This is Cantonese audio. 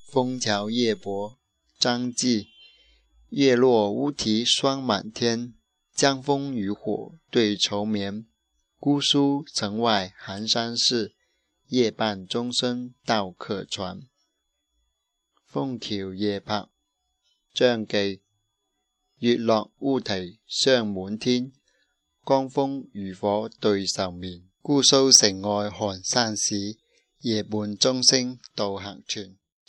枫桥夜泊，张继。月落乌啼霜满天，江枫渔火对愁眠。姑苏城外寒山寺，夜半钟声到客船。枫橋夜泊，張繼。月落烏啼霜滿天，江楓漁火對愁眠。姑蘇城外寒山寺，夜半鐘聲到客船。